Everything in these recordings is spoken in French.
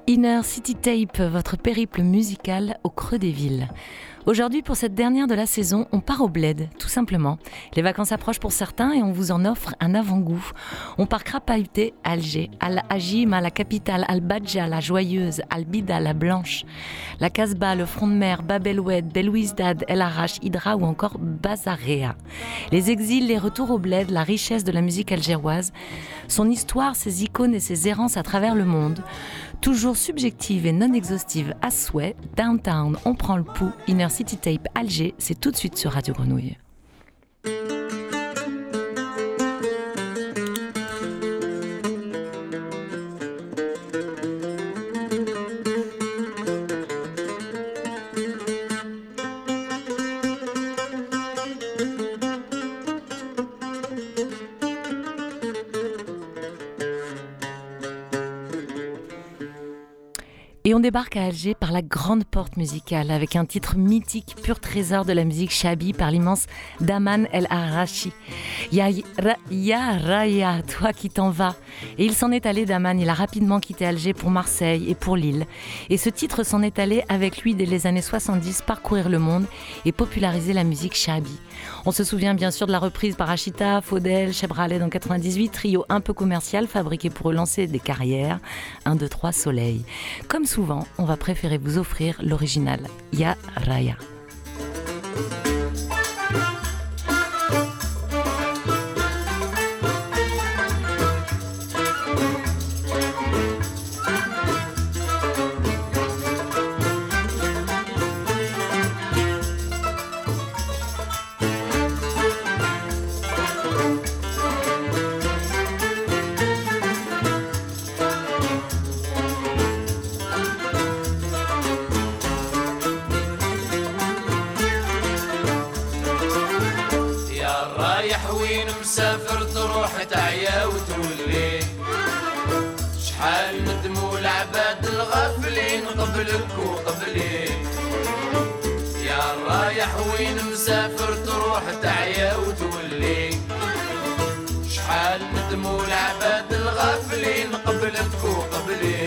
Inner City Tape, votre périple musical au creux des villes. Aujourd'hui, pour cette dernière de la saison, on part au bled, tout simplement. Les vacances approchent pour certains et on vous en offre un avant-goût. On part crapahuter à Alger, Al-Hajim, à la capitale, Al-Badja, la joyeuse, Al-Bida, la blanche, la Casbah, le front de mer, Bab el-Oued, Belouizdad, El Arach, Hydra ou encore Bazarea. Les exils, les retours au bled, la richesse de la musique algéroise, son histoire, ses icônes et ses errances à travers le monde. Toujours subjective et non exhaustive à souhait, Downtown, on prend le pouls, Inner City Tape Alger, c'est tout de suite sur Radio Grenouille. Et on débarque à Alger par la grande porte musicale avec un titre mythique, pur trésor de la musique chabi par l'immense Daman El Arachi. Ya Raya, toi qui t'en vas. Et il s'en est allé, Daman, il a rapidement quitté Alger pour Marseille et pour Lille. Et ce titre s'en est allé avec lui dès les années 70 parcourir le monde et populariser la musique chabi. On se souvient bien sûr de la reprise par Achita, Faudel, Cheb Khaled en 98, trio un peu commercial fabriqué pour relancer des carrières. 1, 2, 3, soleil. Comme souvent, on va préférer vous offrir l'original, Ya Raya. مسافر تروح تعيا وتولي شحال ندموا العباد الغافلين قبلك وقبلي يا رايح وين مسافر تروح تعيا وتولي شحال ندموا العباد الغافلين قبلك وقبلي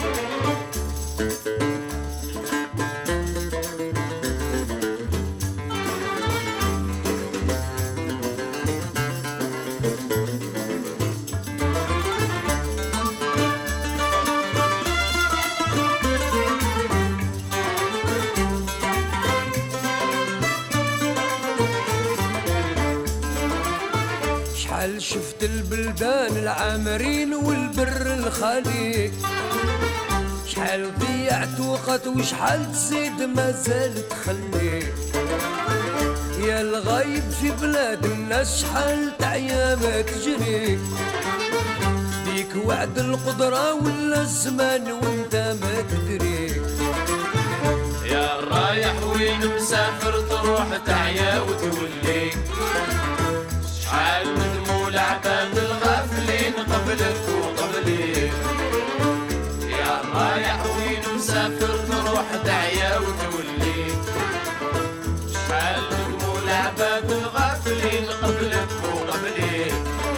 شفت البلدان العامرين والبر الخالي شحال ضيعت وقت وشحال تزيد مازال تخلي يا الغايب في بلاد الناس شحال تعيا ما تجري ديك وعد القدرة ولا الزمان وانت ما تدري يا رايح وين مسافر تروح تعيا وتولي شحال ندموا العباد الغافلين قبلك وقبلي يا رايح وين مسافر تروح تعيا وتولي شحال ندموا العباد الغافلين قبلك وقبلي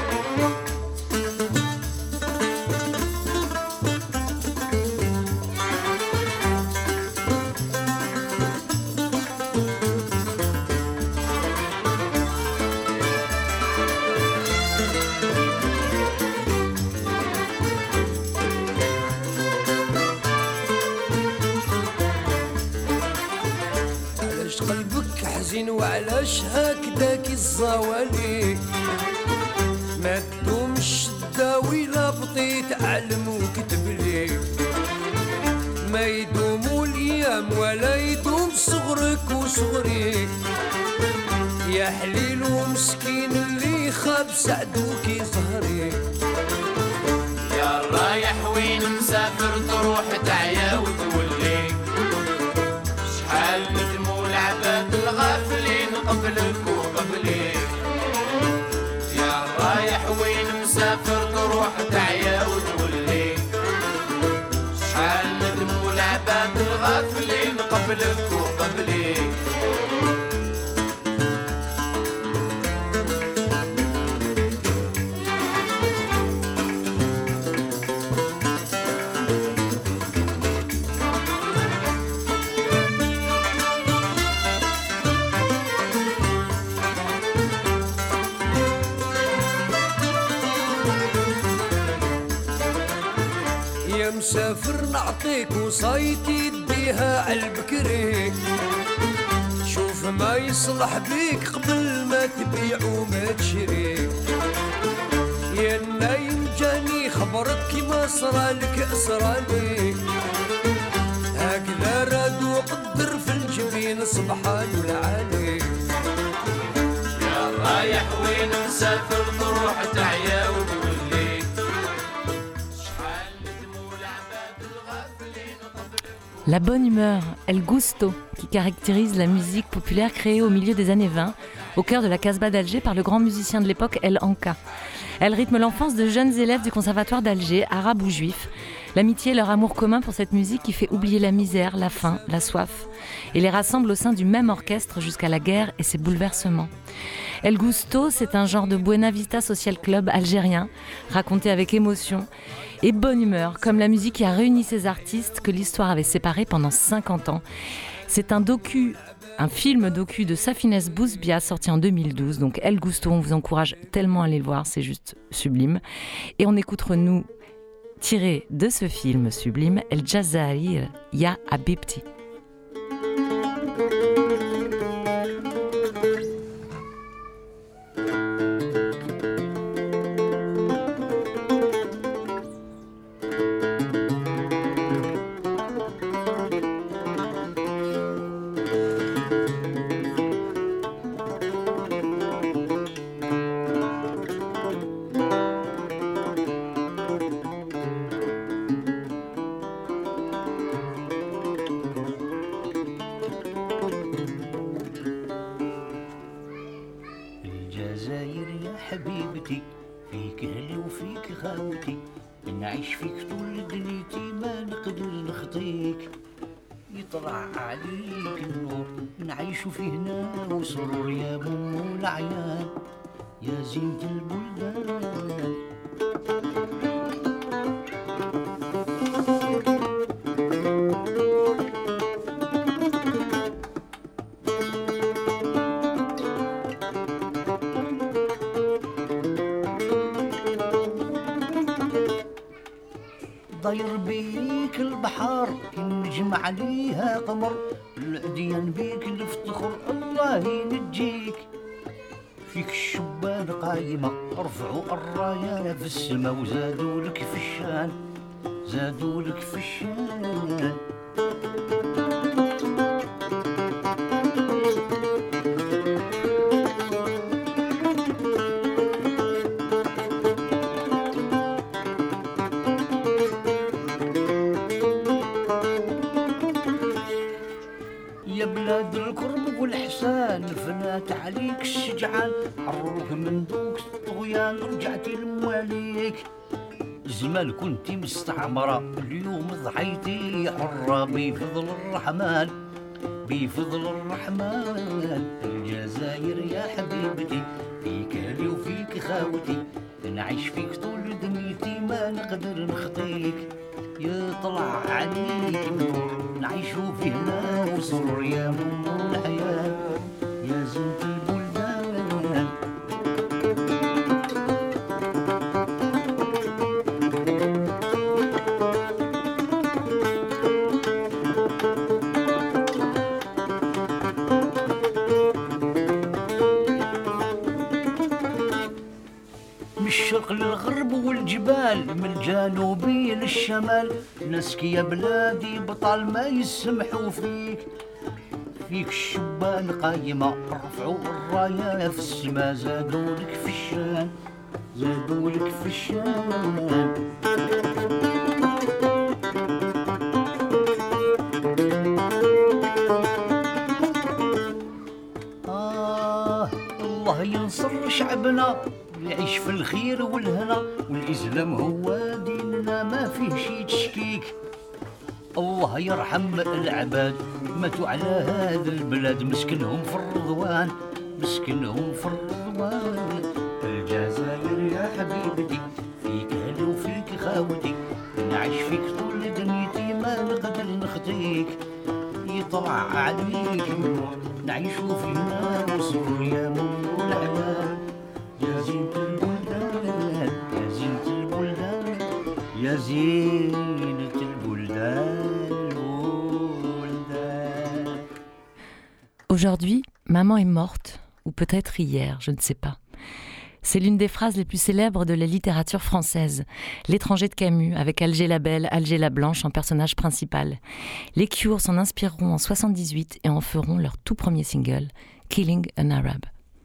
وعلاش هكداك الزوالي ما تدوم الشدة ولا بطيت علم وكتب لي ما يدوم الايام ولا يدوم صغرك وصغري يا حليل ومسكين اللي خاب سعدوك ظهري يا رايح وين مسافر تروح تعيا وتولي شحال ندموا العباد الغافلين قبلك وقبلي يا رايح وين مسافر تروح تعيا وتولي شحال ندموا العباد الغافلين قبلك وقبلي مسافر نعطيك وصايتي يديها عالبكري شوف ما يصلح بيك قبل ما تبيع وما تشري يا نايم جاني خبرك كيما صرالك صرالي هكذا راد وقدر في الجبين سبحان العالي يا رايح وين مسافر تروح تعيا وتولي شحال ندموا العباد الغافلين La bonne humeur, El Gusto, qui caractérise la musique populaire créée au milieu des années 20, au cœur de la Casbah d'Alger par le grand musicien de l'époque El Anka. Elle rythme l'enfance de jeunes élèves du conservatoire d'Alger, arabes ou juifs. L'amitié et leur amour commun pour cette musique qui fait oublier la misère, la faim, la soif, et les rassemble au sein du même orchestre jusqu'à la guerre et ses bouleversements. El Gusto, c'est un genre de Buena Vista Social Club algérien, raconté avec émotion et bonne humeur, comme la musique qui a réuni ces artistes que l'histoire avait séparés pendant 50 ans. C'est un film docu de Safines Bouzbia sorti en 2012. Donc El Gusto, on vous encourage tellement à aller le voir, c'est juste sublime. Et on écoutera nous, tiré de ce film sublime, El Jazair Ya Habibti. حبيبتي فيك هلي وفيك خاوتي نعيش فيك طول دنيتي ما نقدر نخطيك يطلع عليك النور نعيش فيه هنا وسرور يا بوم العيان يا زينة البلدان ضير بيك البحر النجم عليها قمر العديان بيك نفتخر الله ينجيك فيك الشبان قايمة رفعوا الراية في السما وزادوا لك في الشان زادوا لك في الشان يا بلاد الكرم والحسان فنات عليك الشجعان حروك من دوك الطغيان رجعتي لمواليك زمان كنتي مستعمرة اليوم ضحيتي حرة بفضل الرحمن بفضل الرحمن الجزائر يا حبيبتي فيك هلي وفيك خاوتي نعيش فيك طول دنيتي ما نقدر نخطيك يطلع عليك النور نعيشو فيه هنا وسرور يا من الحياة يا زينة البلدان من الشرق للغرب والجبال من الجنوبي للشمال ناسك يا بلادي بطل ما يسمحوا فيك فيك الشبان قايمة رفعوا الراية في السما زادوا لك في الشان زادوا لك في الشان الله ينصر شعبنا يعيش في الخير والهنا والإسلام هو ديننا ما فيه شي تشكيك الله يرحم العباد ماتوا على هذا البلاد مسكنهم في الرضوان مسكنهم في الرضوان الجزائر يا حبيبتي فيك هلا وفيك خاوتي نعيش فيك طول دنيتي ما نقدر نخطيك يطلع عليك النور نعيشو فينا وسرور يا من الحياة يا زينة البلدان يا زينة البلدان يا زينة البلدان. Aujourd'hui, maman est morte, ou peut-être hier, je ne sais pas. C'est l'une des phrases les plus célèbres de la littérature française. L'étranger de Camus, avec Alger la Belle, Alger la Blanche en personnage principal. Les Cure s'en inspireront en 78 et en feront leur tout premier single, Killing an Arab.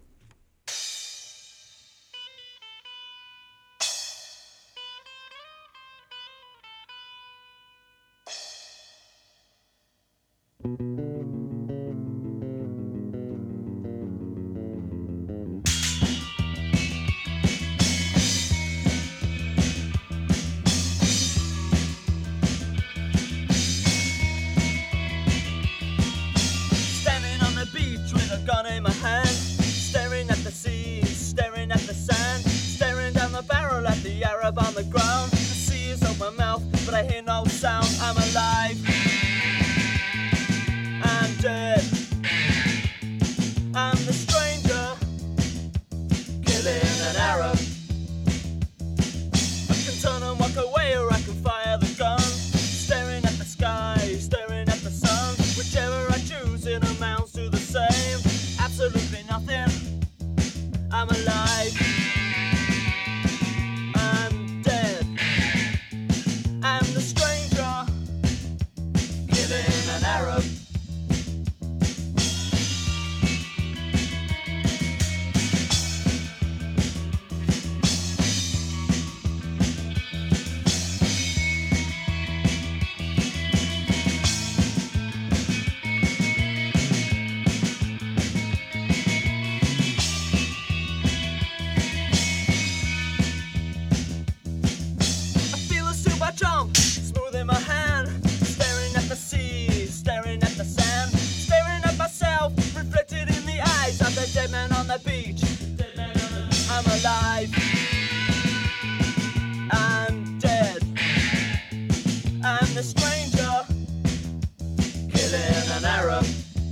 Gun in my hand, staring at the sea, staring at the sand, staring down the barrel at the Arab on the ground. The sea is open my mouth, but I hear no sound. I'm alive, I'm dead, I'm the stranger, killing an Arab. I can turn and walk away, or I can fire the gun, staring at the sky, staring at the sun. Whichever I choose, it amounts to the same. Absolutely nothing. I'm alive. I'm dead. I'm the stranger, killing an Arab. Jump, smooth in my hand, staring at the sea, staring at the sand, staring at myself, reflected in the eyes of the dead man on the beach. I'm alive, I'm dead, I'm the stranger, killing an Arab.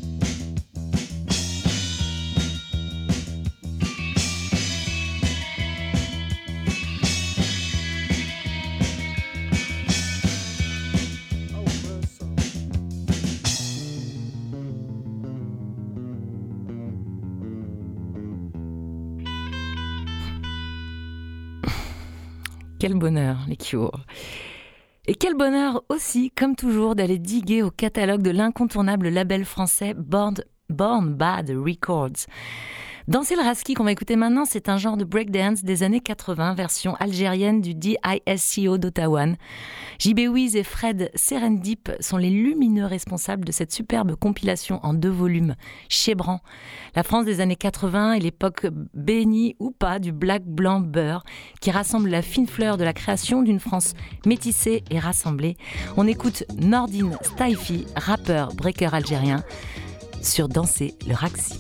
Quel bonheur, les Cure. Et quel bonheur aussi, comme toujours, d'aller diguer au catalogue de l'incontournable label français Born Bad Records. Danser le Raski qu'on va écouter maintenant, c'est un genre de breakdance des années 80, version algérienne du DISCO d'Ottawa. JB Wiz et Fred Serendip sont les lumineux responsables de cette superbe compilation en 2 volumes, Chébran. La France des années 80 et l'époque bénie ou pas du black blanc beurre qui rassemble la fine fleur de la création d'une France métissée et rassemblée. On écoute Nordine Staifi, rappeur breaker algérien, sur Danser le Raksi.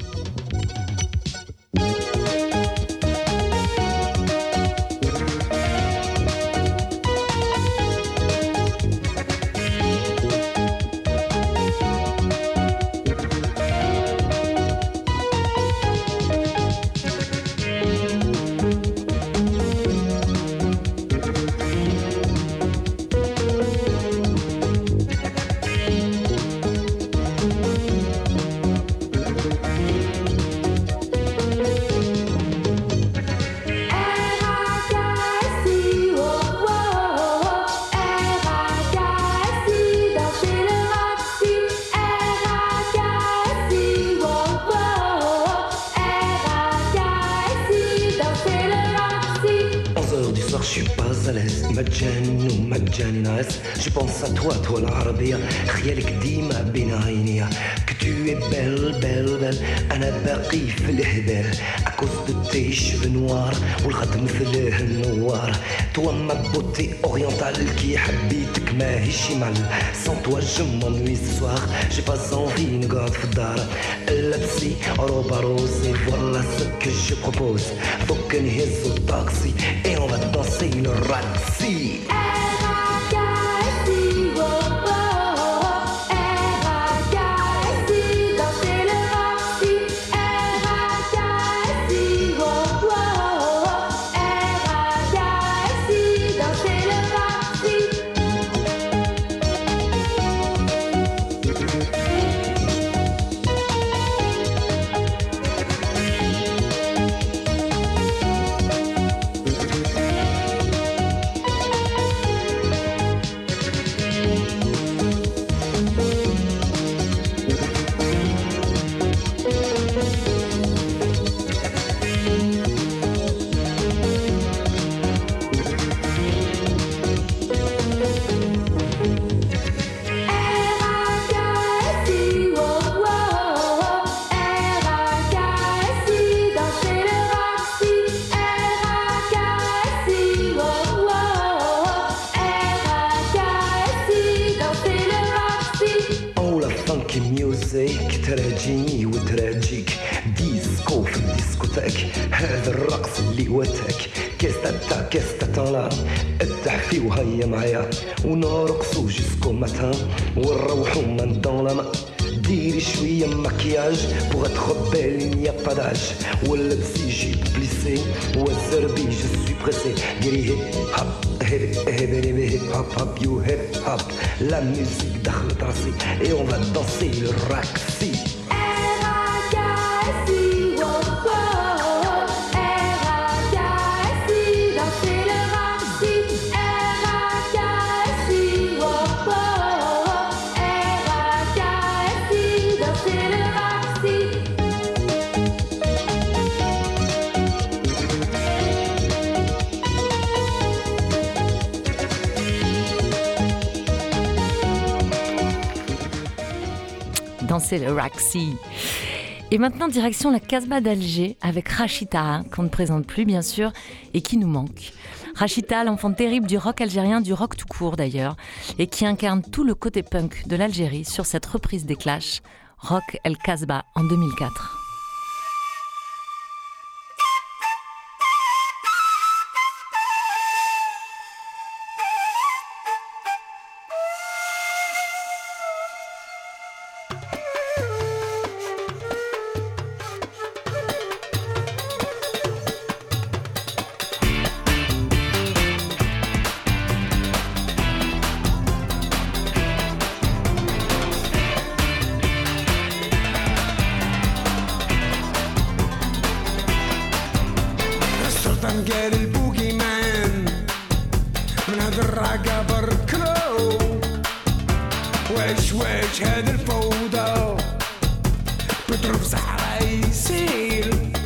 Je pense à toi, toi l'Arabia, خيالك ديما بين عينيا. Que tu es belle, belle, belle, أنا باقي في الهبال. À cause de tes cheveux noirs والخد مثل النوار. Toi ma beauté orientale qui حبيتك ماهيش مال. Sans toi je m'ennuie ce soir, j'ai pas envie نقعد في الدار. لابسي روبا روز et voilà ce que je propose. Faut que نهز الطاكسي et on va danser le Raksi. Danser le تراجيني وتراجيك ديسكو في الديسكوتاك هذا الرقص اللي وتاك كيستا كيستا التحفي وهيا معايا ونرقصو جيسكو ماتان ونروحو من دون لا مان ديري شوية مكياج pour être belle il n'y a pas d'âge واللبسي جيب بليسي والزربي je suis pressé ديري هيب هاب هيب هاب هاب يو هيب هاب la musique دخلت راسي et on va danser le raxi Danser le Raxi. Et maintenant, direction la Casbah d'Alger avec Rachita, qu'on ne présente plus bien sûr, et qui nous manque. Rachita, l'enfant terrible du rock algérien, du rock tout court d'ailleurs, et qui incarne tout le côté punk de l'Algérie sur cette reprise des Clash, Rock El Casbah en 2004. قال البوغي مان من هاد الراقة بركلو واش هاد الفوضى بتروح صحراء يسير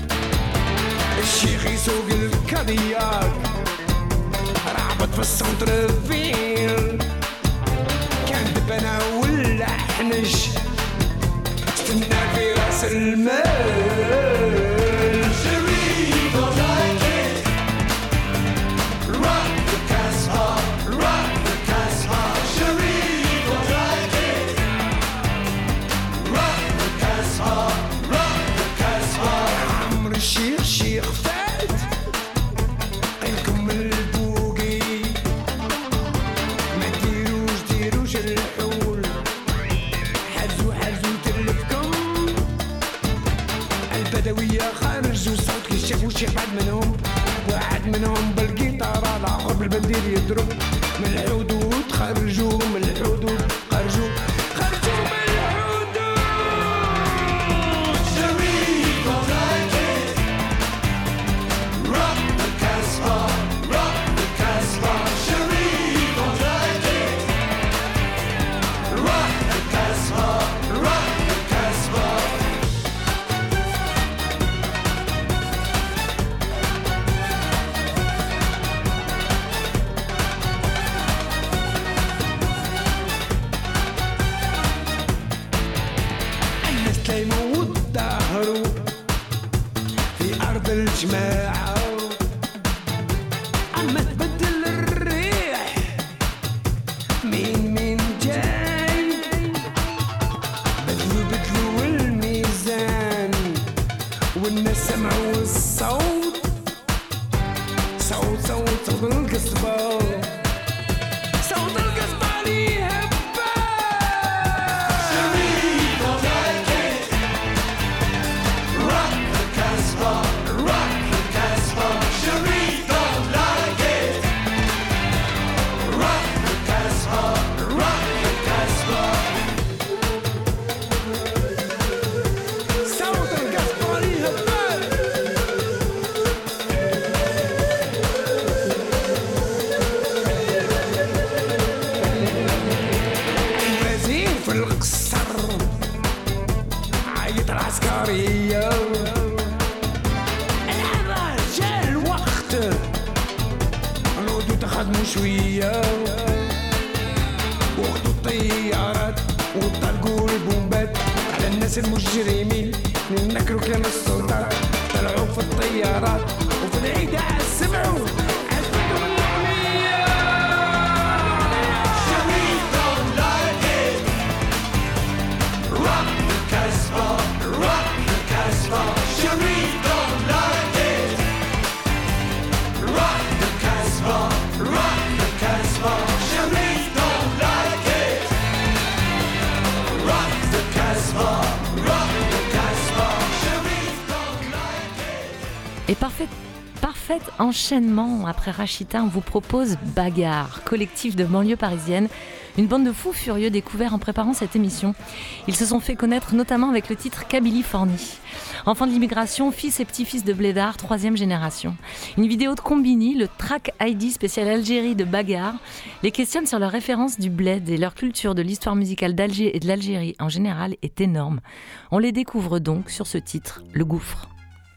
الشيخ يسوق الكادياك رعبت في السنتر فيل كان دبنا ولا حنش استنى في راس المال شي واحد منهم بالقيطارة الآخر بالبندير يضرب من الحدود خرجوا من الحدود خرجوا من الحدود شريك ونايتي rock the Casbah شريك ونايتي rock the Casbah الجماعة عم تبدل الريح مين جاي بدلوا الميزان والناس سمعوا الصوت صوت القصبة صوت القصبة اللي هبة شريك ونايتي rock the Casbah العسكرية الحرة جا الوقت الهدوء تخدموا شوية واخدوا الطيارات وطلقوا البومبات على الناس المجرمين نكروا كلام السلطات طلعوا في الطيارات وفي العيد سمعوا Casbah Et parfait enchaînement. Après Rachita, on vous propose Bagarre, collectif de banlieue parisienne, une bande de fous furieux découverts en préparant cette émission. Ils se sont fait connaître notamment avec le titre Kabylie-Fornie. Enfants de l'immigration, fils et petits-fils de blédards, 3e génération. Une vidéo de Combini, le track ID spécial Algérie de Bagarre, les questionne sur leur référence du bled et leur culture de l'histoire musicale d'Alger et de l'Algérie en général est énorme. On les découvre donc sur ce titre, Le Gouffre.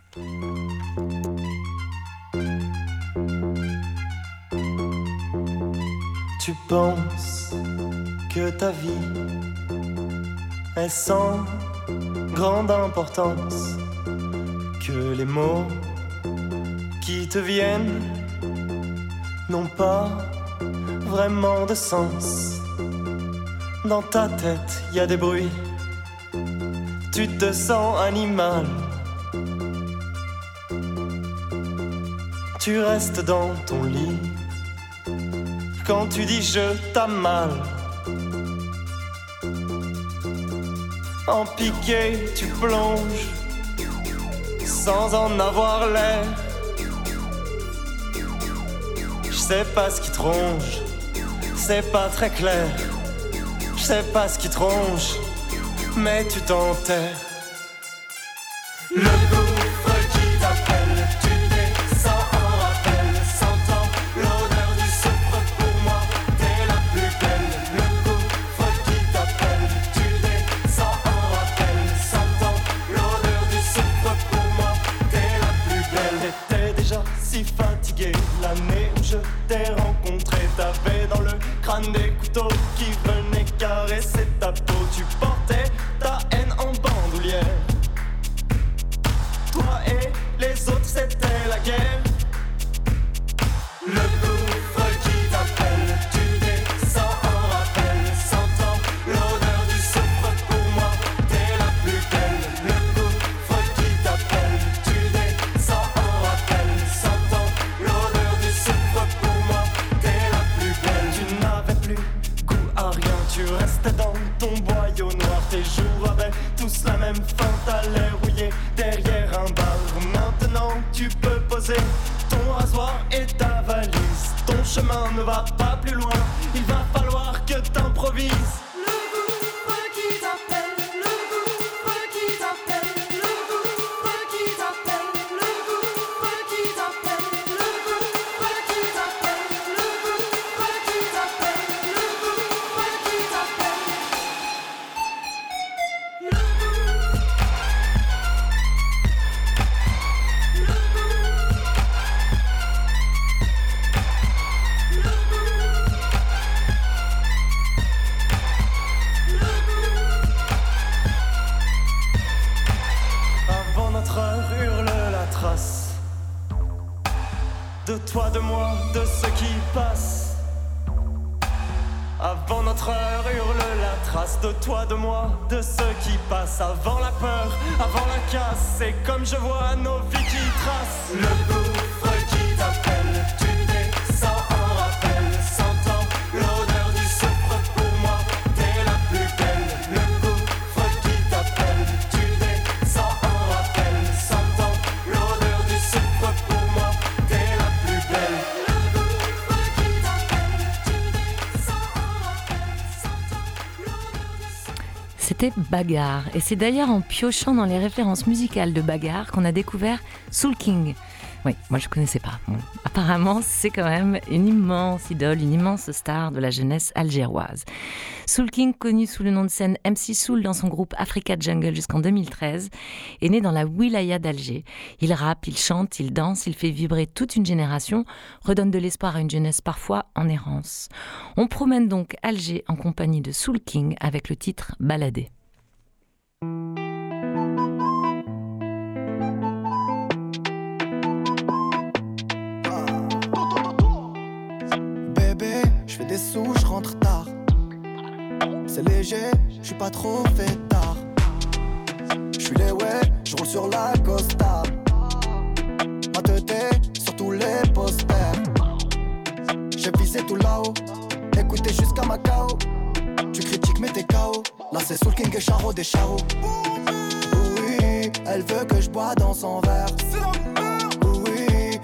Tu penses que ta vie est sans grande importance, que les mots qui te viennent n'ont pas vraiment de sens. Dans ta tête, y a des bruits, tu te sens animal. Tu restes dans ton lit quand tu dis je t'aime mal. En piqué, tu plonges sans en avoir l'air. Je sais pas ce qui te ronge, c'est pas très clair. Je sais pas ce qui te ronge, mais tu t'enterres. Le gouffre qui t'appelle, tu descends en rappel, sentant l'odeur du soufre. Pour moi, t'es la plus belle. Le gouffre qui t'appelle, tu descends en rappel, sentant l'odeur du soufre. Pour moi, t'es la plus belle. T'étais déjà si fatigué l'année où je t'ai rencontré. T'avais dans le crâne des couteaux qui venaient caresser ta peau. Tu portais ta haine en bandoulière. Toi et les autres, c'était la guerre. Le gouffre qui t'appelle, tu descends en rappel, sentant l'odeur du soufre. Pour moi, t'es la plus belle. Le gouffre qui t'appelle, tu descends en rappel, sentant l'odeur du soufre. Pour moi, t'es la plus belle. Tu n'avais plus goût à rien, tu restais dans ton boyau noir. Tes jours avaient tous la même fin, t'allais rouiller derrière un bar. Maintenant tu peux poser ton rasoir et ta valise. Ton chemin ne va pas plus loin, il va falloir que t'improvises. Le gouffre qui t'appelle, le gouffre qui t'appelle, le gouffre qui t'appelle, le gouffre qui t'appelle, le gouffre qui t'appelle, le gouffre qui t'appelle, le gouffre qui t'appelle. Avant notre heure hurle la trace de toi, de moi, de ce qui passe. Avant notre heure hurle la trace de toi, de moi, de ce qui passe. Avant la peur, avant la casse, c'est comme je vois nos vies qui tracent. Le gouffre qui t'appelle, tu descends en rappel, sentant l'odeur du soufre. Pour moi, t'es la plus belle. Le gouffre qui t'appelle, tu descends en rappel, sentant l'odeur du soufre. Pour moi, t'es la plus belle. Le gouffre qui t'appelle, tu descends en rappel, sentant l'odeur du soufre. C'était Bagarre, et c'est d'ailleurs en piochant dans les références musicales de Bagarre qu'on a découvert Soul King. Oui, moi je connaissais pas. Bon, apparemment, c'est quand même une immense idole, une immense star de la jeunesse algéroise. Soul King, connu sous le nom de scène MC Soul dans son groupe Africa Jungle jusqu'en 2013, est né dans la wilaya d'Alger. Il rappe, il chante, il danse, il fait vibrer toute une génération, redonne de l'espoir à une jeunesse parfois en errance. On promène donc Alger en compagnie de Soul King avec le titre Balader. Bébé, je fais des sous, je rentre tard. C'est léger, je suis pas trop fêtard. Je suis les ouais, je roule sur la Costa. Ma tête est sur tous les posters. J'ai visé tout là-haut, écoutez jusqu'à Macao. Tu critiques mais t'es KO. Là c'est Soul King et Charo des Charo. Oui, elle veut que je bois dans son verre.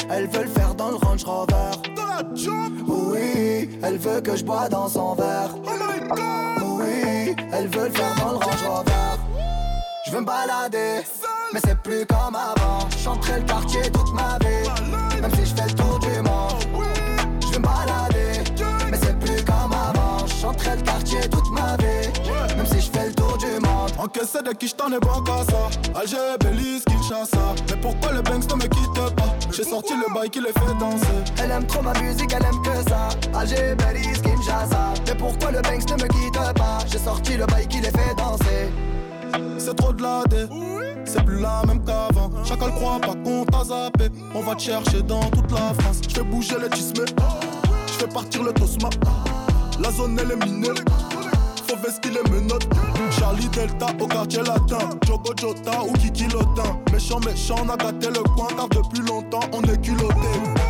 elles veulent faire dans le Range Rover. Oui, elle veut que je bois dans son verre. Oui, elles veulent faire dans le Range Rover. Je veux me balader, mais c'est plus comme avant. Chanterai le quartier toute ma vie, même si je fais le tour du monde. Je veux me balader, mais c'est plus comme avant. Chanterai le quartier toute ma vie, même si je fais le tour du monde. Encaissé de qui j't'en ai bon qu'à ça. Alger, Belize, Kinshasa. Mais pourquoi le Banks ne me quitte pas? J'ai sorti le bail qui les fait danser. Elle aime trop ma musique, elle aime que ça. Alger, Belize, Kinshasa. Mais pourquoi le Banks ne me quitte pas? J'ai sorti le bail qui les fait danser. C'est trop de la dé, c'est plus la même qu'avant. Chacun le croit pas qu'on t'a zappé. On va te chercher dans toute la France. J'fais bouger les tismés, j'fais partir le tosma. La zone elle est minée, faut vestir les menottes. Charlie Delta au quartier latin, Jogo Jota ou Kiki Lotin. Méchant, on a gâté le coin car depuis longtemps on est culotté.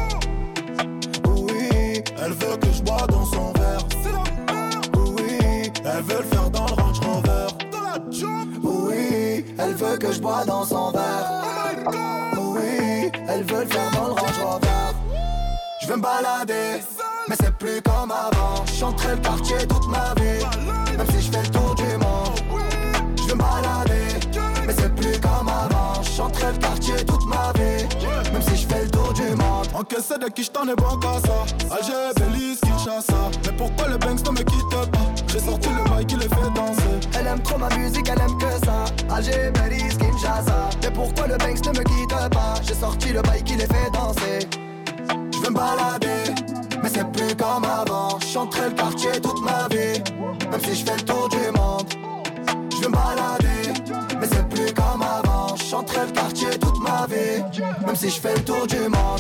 Oui, elle veut que je bois dans son verre. Oui, elle veut le faire dans le Range Rover. Oui, elle veut que je bois dans son verre. Oui, elle veut le faire dans le Range Rover. Je veux me balader, mais c'est plus comme avant. Chanterai le quartier toute ma vie, même si je fais le tour du monde. Je veux me balader, mais c'est plus comme avant. Chanterai le quartier toute ma vie, même si je fais le tour du monde. Encaissé de qui j't'en ai bon qu'à ça. Alger, Belize, Kinshasa. Mais pourquoi le Banks ne me quitte pas? J'ai sorti le bail qui les fait danser. Elle aime trop ma musique, elle aime que ça. Alger, Belize, Kinshasa. Mais pourquoi le Banks ne me quitte pas? J'ai sorti le bail qui les fait danser. Je veux me balader, mais c'est plus comme avant. Chanterai le quartier toute ma vie, même si je fais le tour du monde. Je veux me balader, mais c'est plus comme avant. Chanterai le quartier toute ma vie, même si je fais le tour du monde.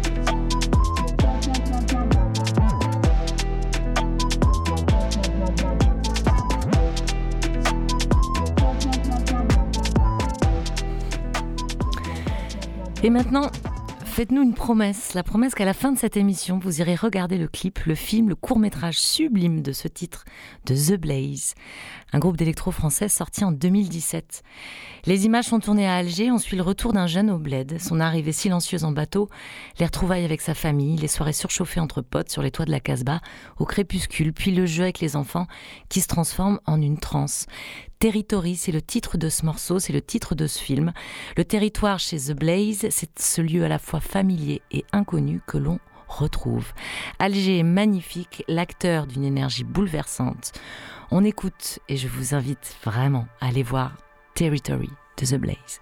Et maintenant, faites-nous une promesse, la promesse qu'à la fin de cette émission, vous irez regarder le clip, le film, le court-métrage sublime de ce titre de The Blaze, un groupe d'électro français sorti en 2017. Les images sont tournées à Alger, on suit le retour d'un jeune au bled, son arrivée silencieuse en bateau, les retrouvailles avec sa famille, les soirées surchauffées entre potes sur les toits de la Casbah, au crépuscule, puis le jeu avec les enfants qui se transforme en une transe. Territory, c'est le titre de ce morceau, c'est le titre de ce film. Le territoire chez The Blaze, c'est ce lieu à la fois familier et inconnu que l'on retrouve. Alger est magnifique, l'acteur d'une énergie bouleversante. On écoute et je vous invite vraiment à aller voir Territory de The Blaze.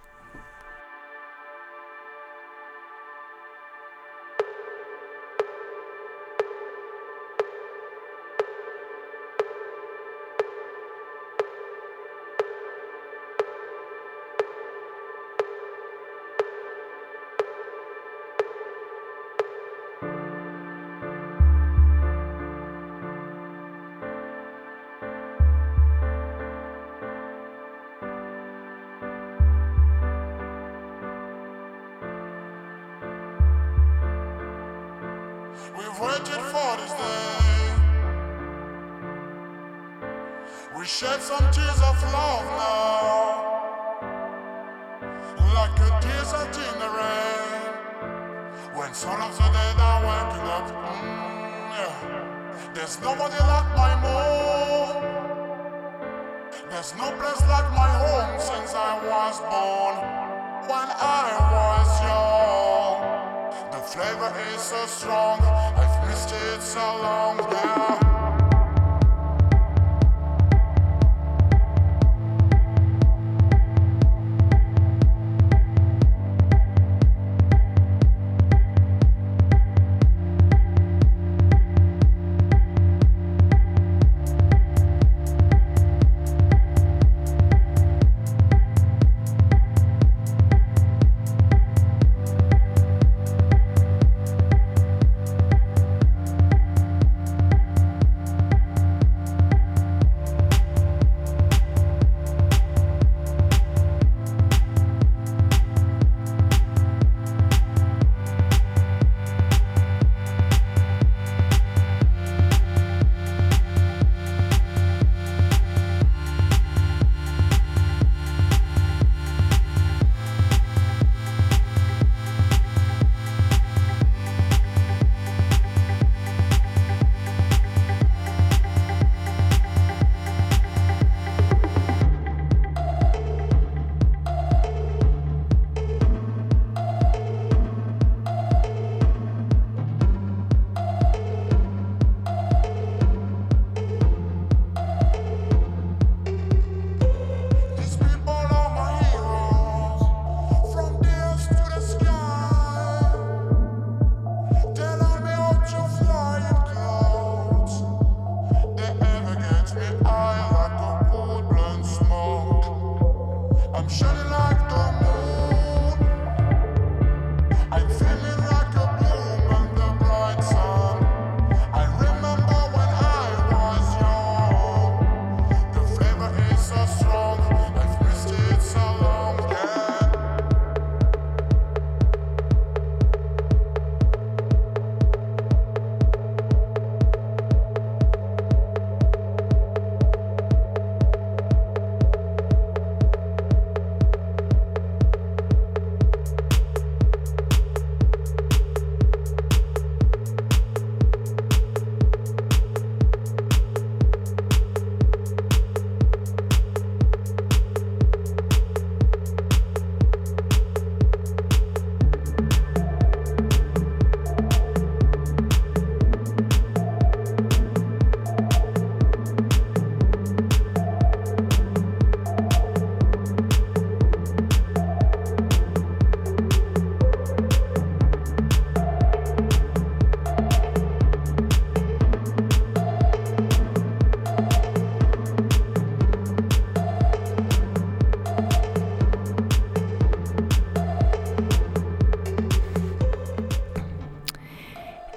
We've waited for this day. We shed some tears of love now, like a desert in the rain. When some of the dead are waking up, yeah. There's nobody like my mom. There's no place like my home since I was born. When I was young, the flavor is so strong. I've missed it so long now.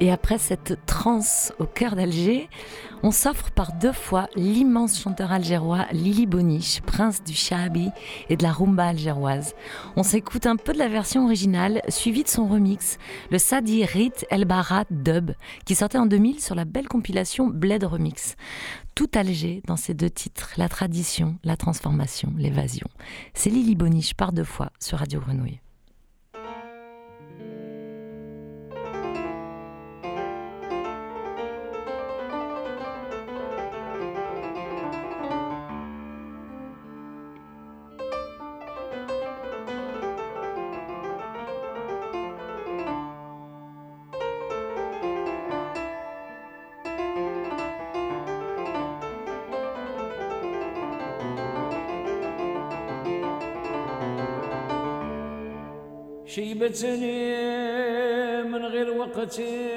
Et après cette transe au cœur d'Alger, on s'offre par 2 fois l'immense chanteur algérois Lili Boniche, prince du Shaabi et de la rumba algéroise. On s'écoute un peu de la version originale, suivie de son remix, le Sadi Rit El Barat Dub, qui sortait en 2000 sur la belle compilation Bled Remix. Tout Alger dans ces 2 titres, la tradition, la transformation, l'évasion. C'est Lili Boniche par 2 fois sur Radio Grenouille. شيبتني من غير وقتي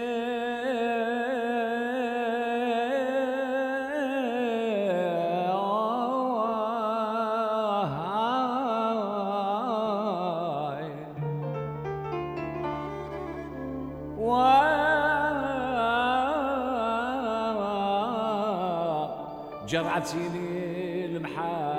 جرعتيني المحال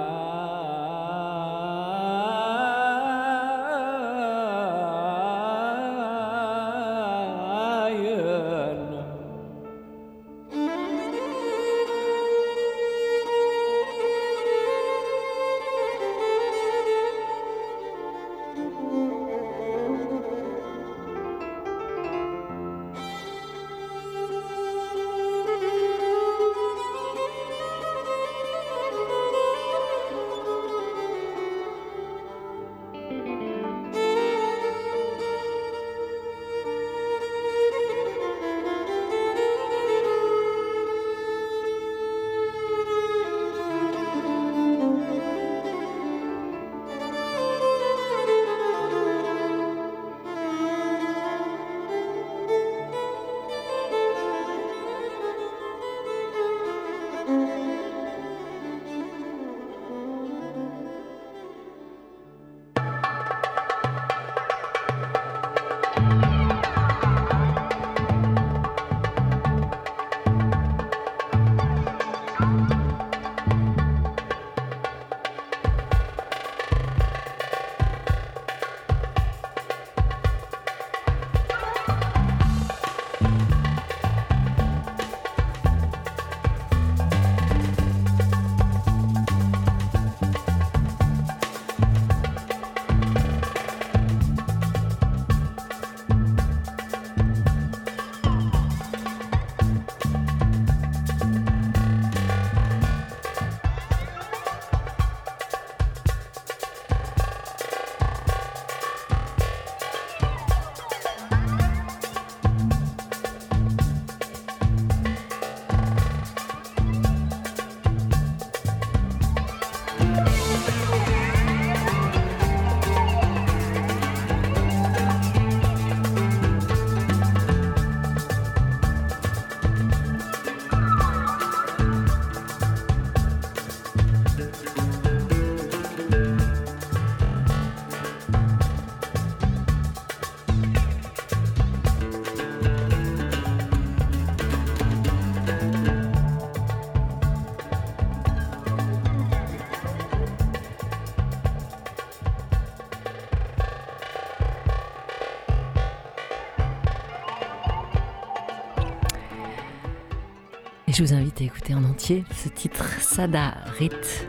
Et je vous invite à écouter en entier ce titre Sada Rit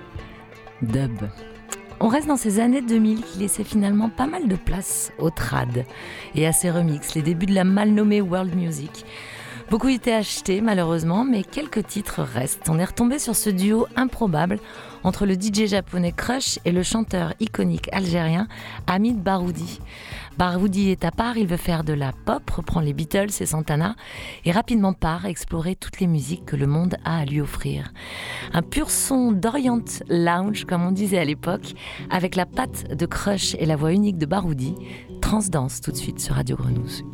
Dub. On reste dans ces années 2000 qui laissaient finalement pas mal de place au trad et à ses remixes, les débuts de la mal nommée world music. Beaucoup étaient achetés malheureusement, mais quelques titres restent. On est retombé sur ce duo improbable entre le DJ japonais Crush et le chanteur iconique algérien Hamid Baroudi. Baroudi est à part, il veut faire de la pop, reprend les Beatles et Santana et rapidement part explorer toutes les musiques que le monde a à lui offrir. Un pur son d'Orient Lounge, comme on disait à l'époque, avec la patte de Crush et la voix unique de Baroudi. Transdance tout de suite sur Radio Grenouille.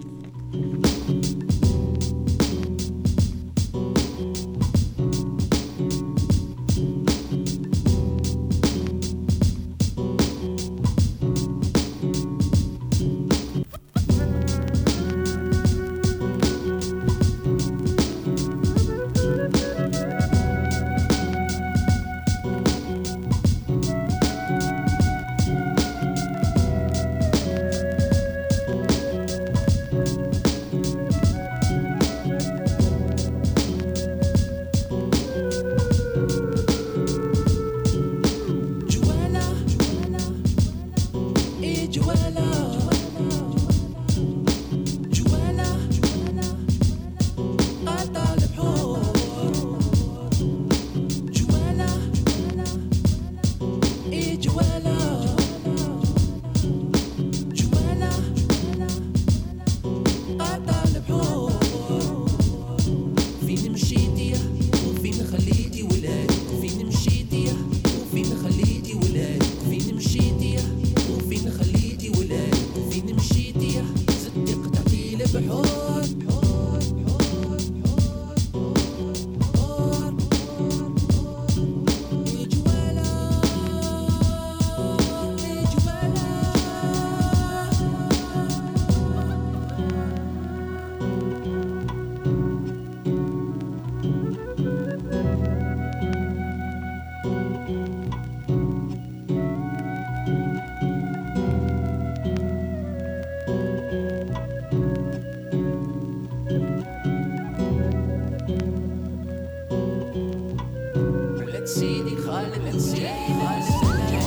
سيدي خالد سيدي خالد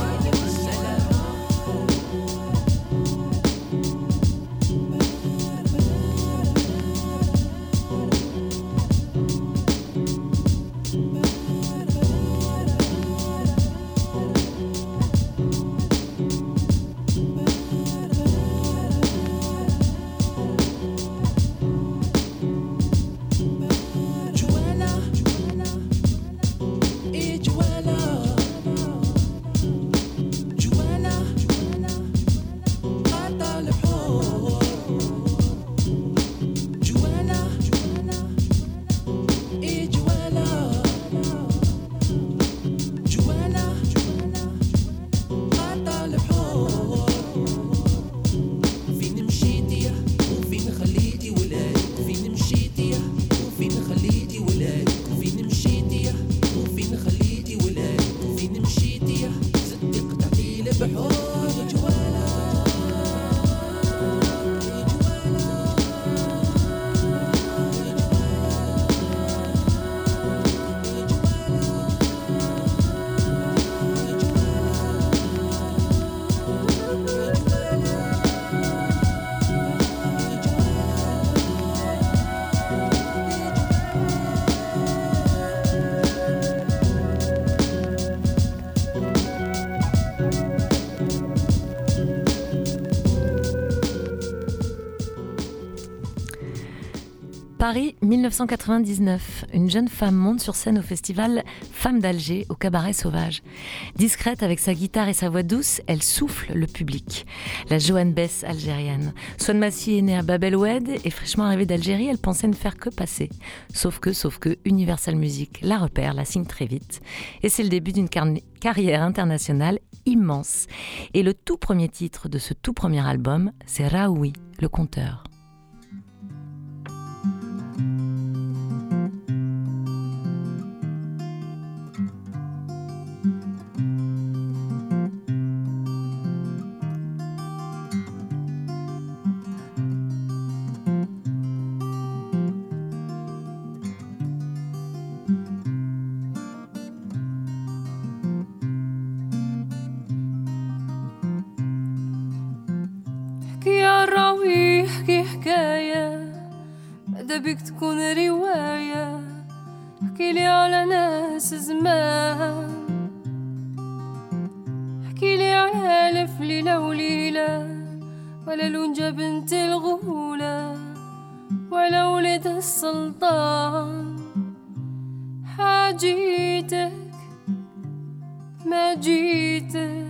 Paris 1999, une jeune femme monte sur scène au festival Femmes d'Alger au Cabaret Sauvage. Discrète avec sa guitare et sa voix douce, elle souffle le public. La Joan Bess algérienne. Swan Massy est née à Bab el Oued et fraîchement arrivée d'Algérie, elle pensait ne faire que passer. Sauf que Universal Music la repère, la signe très vite. Et c'est le début d'une carrière internationale immense. Et le tout premier titre de ce tout premier album, c'est Raoui, le conteur. بك تكون رواية احكيلي على ناس زمان احكيلي على ألف ليلة وليلة ولا لونجة بنت الغولة ولا ولد السلطان حاجيتك ما جيتك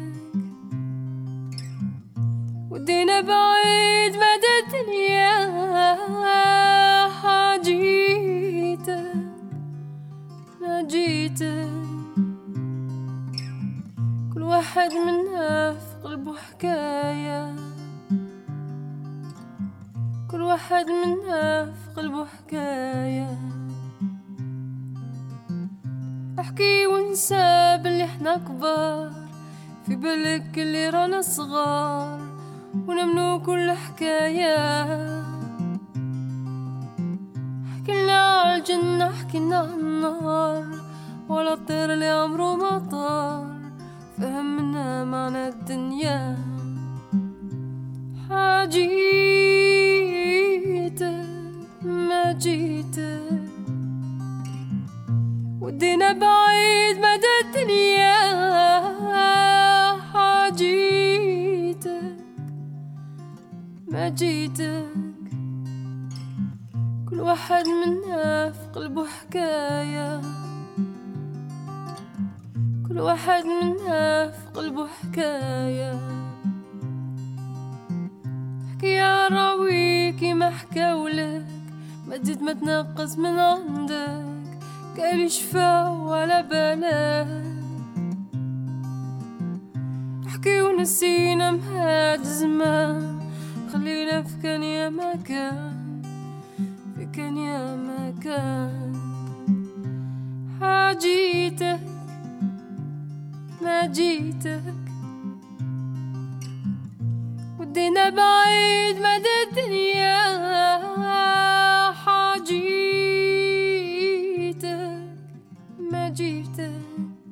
ودينا بعيد مدى الدنيا حاجيتك ما جيتك كل واحد منا في قلبه حكاية كل واحد منا في قلبه حكاية احكي وانسى باللي احنا كبار في بالك اللي رانا صغار ونمنو كل حكاية حكينا على الجنة حكينا على النار ولا الطير اللي عمره ما طار فهمنا معنى الدنيا حاجيتك ما جيتك ودينا بعيد مدى الدنيا حاجيتك ما جيتك كل واحد منا في قلبه حكاية كل واحد منا في قلبه حكاية حكي يا راويكي ما حكاولك ما تزيد ما تنقص من عندك قالي شفا ولا بالك حكي ونسينا مهاد زمان خلينا في كان يا ما كان في كان يا ما كان حاجيتك ما جيتك ودينا بعيد مدى الدنيا حاجيتك ما جيتك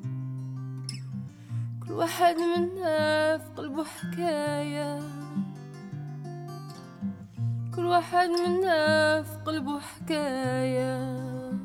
واحد منا في قلبه حكاية كل واحد منا في قلبه حكاية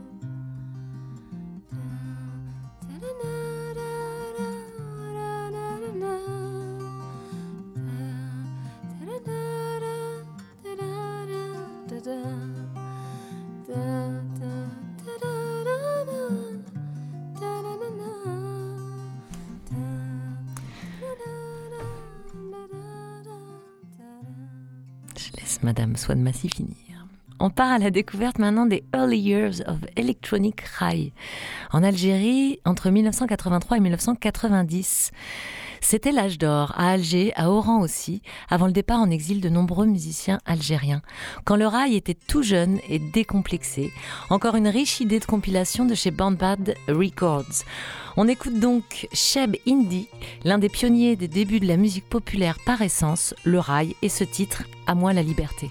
Je laisse Madame Swan Massy finir. On part à la découverte maintenant des Early Years of Electronic High. En Algérie, entre 1983 et 1990. C'était l'âge d'or, à Alger, à Oran aussi, avant le départ en exil de nombreux musiciens algériens. Quand le rail était tout jeune et décomplexé, encore une riche idée de compilation de chez Bandbad Records. On écoute donc Cheb Indi, l'un des pionniers des débuts de la musique populaire par essence, le rail, et ce titre, À moi la liberté.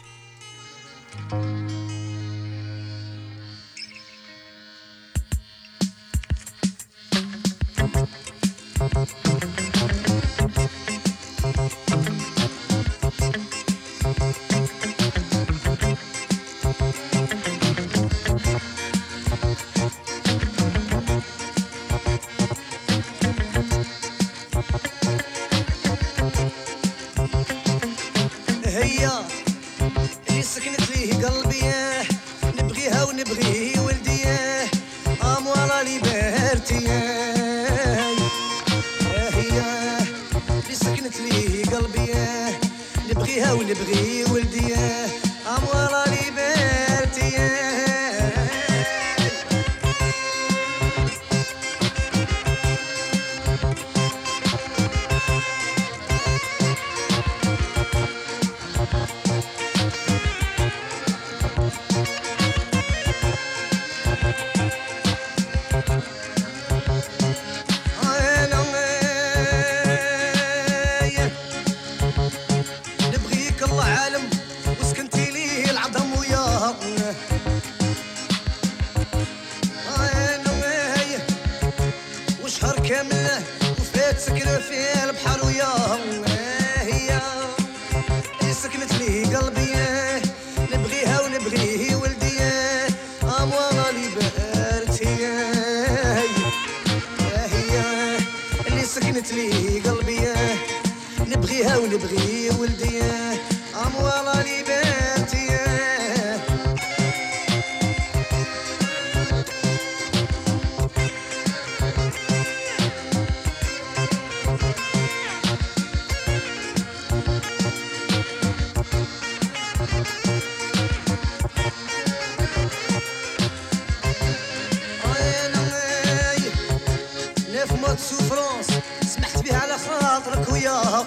هي اللي سكنت ليه قلبي نبغيها ونبغي ولدي اموالا ليبرتي هي اللي سكنت ليه قلبي نبغيها ونبغي ولدي اموالا ليبرتي سكنة في البحر وياها هي اللي سكنت لي قلبي نبغيها ونبغي ولدي اموالا ليبرتي هي اللي سكنت لي قلبي نبغيها ونبغي ولدي اموالا ليبرتي سوفرونس سمحت بها على خاطرك وياها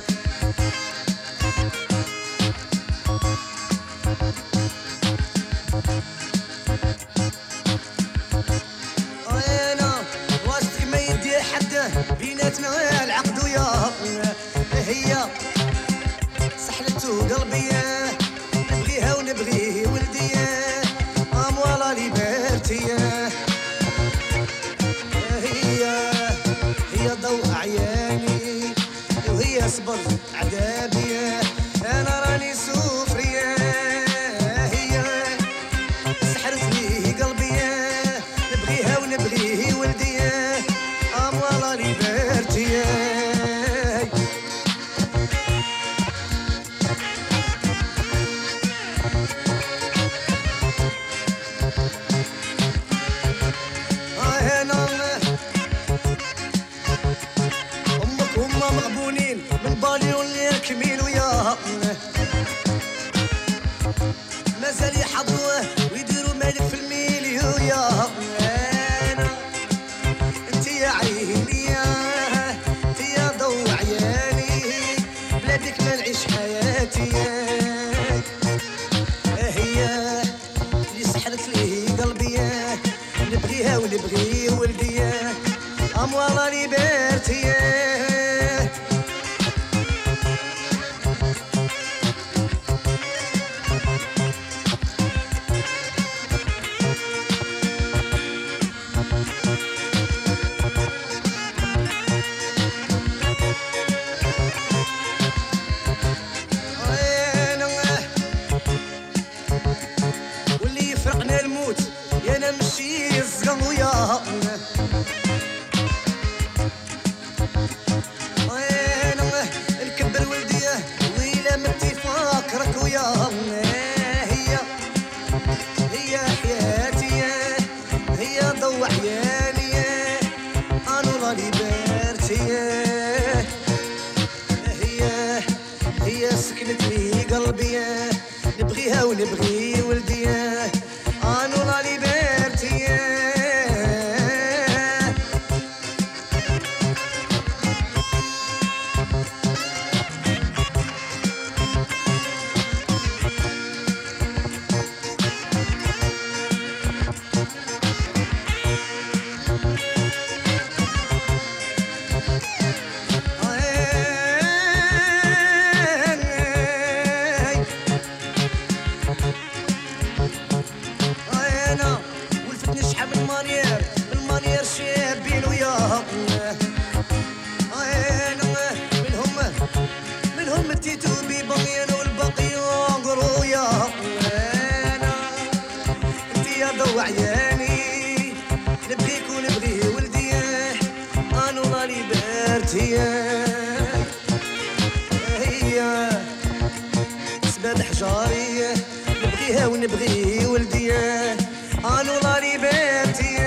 انا واسطك ما يدي حد بيناتنا العقد وياها هي سحلته قلبي نبغيها ونبغي ولدي اموالا ليبرتي هي ضوء عياني وهي صبر عذابي انا راني سوفرية هي سحرت لي قلبي نبغيها ونبغي ولدي اموالا ليبرتي مغبونين من بالي واللي كميل وياها مازال يحضروه ويديروا مالك في الميل وياها انت يا عيني انت يا ضوء عياني بلادك ما نعيش حياتي هي اللي سحرت لي قلبي نبغيها ونبغي ولدي اموالا ليبرتي شي الزقم وياها نكبر ولدي ويلا متي فاكرك وياها هي حياتي هي ضو عيالي انا لا ليبرتي هي سكنت لي قلبي نبغيها ونبغي ولدي انا لا ليبرتي وعياني نبغيك ونبغي ولدي انا لا ليبرتي هي سباد حجاري نبغيها ونبغي ولدي انا لا ليبرتي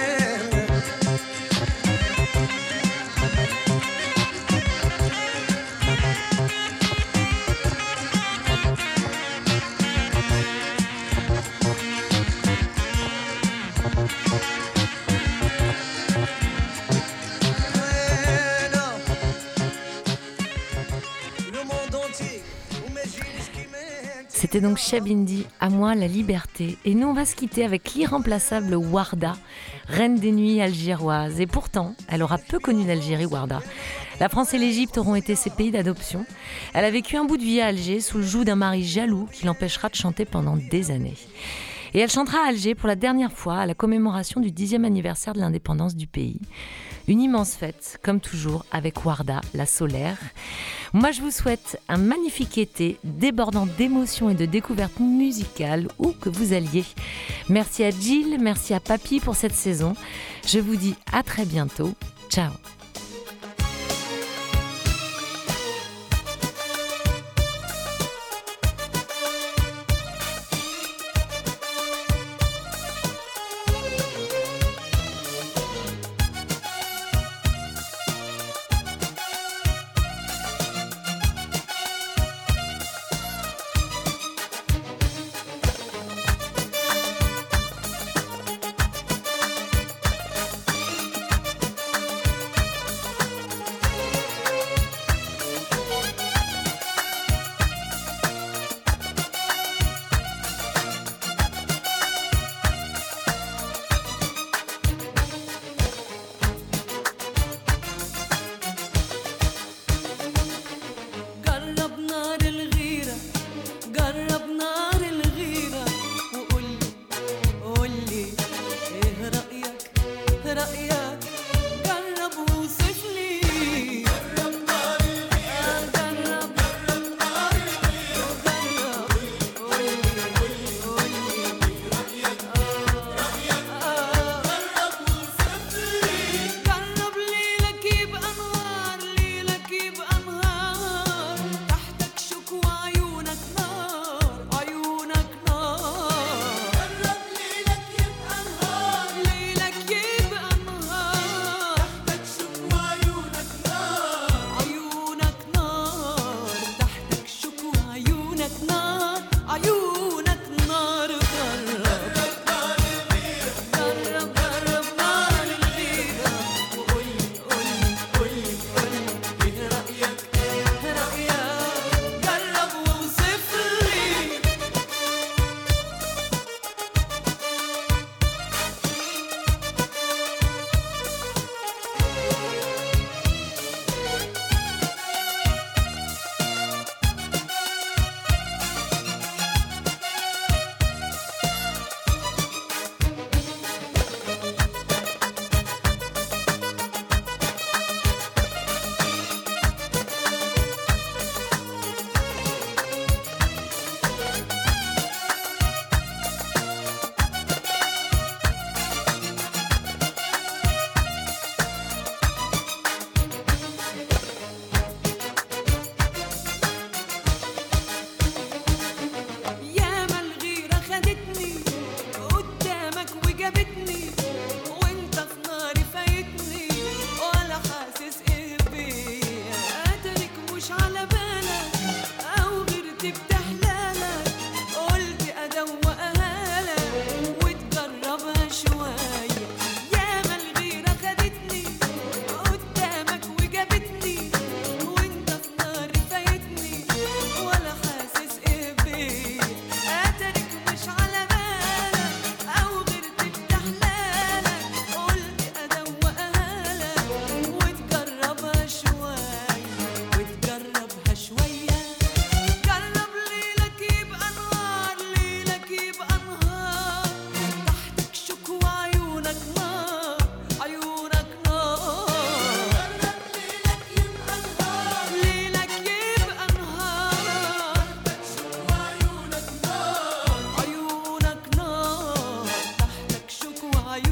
C'était donc Chabindi, à moi la liberté. Et nous on va se quitter avec l'irremplaçable Warda, reine des nuits algéroises. Et pourtant, elle aura peu connu l'Algérie, Warda. La France et l'Égypte auront été ses pays d'adoption. Elle a vécu un bout de vie à Alger sous le joug d'un mari jaloux qui l'empêchera de chanter pendant des années. Et elle chantera à Alger pour la dernière fois à la commémoration du 10e anniversaire de l'indépendance du pays. Une immense fête, comme toujours, avec Warda, la solaire. Moi, je vous souhaite un magnifique été, débordant d'émotions et de découvertes musicales, où que vous alliez. Merci à Jill, merci à Papy pour cette saison. Je vous dis à très bientôt. Ciao.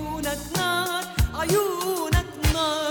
عيونك نار عيونك نار